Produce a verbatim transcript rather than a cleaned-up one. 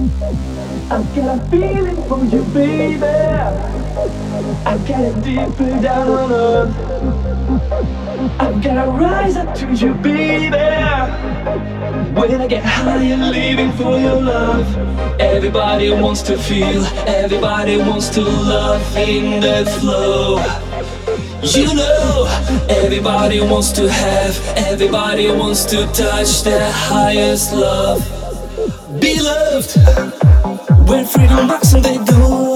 I've got a feeling for you, baby. I've got it deeper down on earth. I've gotta rise up to you, baby. When I get higher, leaving for your love. Everybody wants to feel, everybody wants to love in that flow. You know, everybody wants to have, everybody wants to touch their highest love. Be loved. When freedom knocks on their door,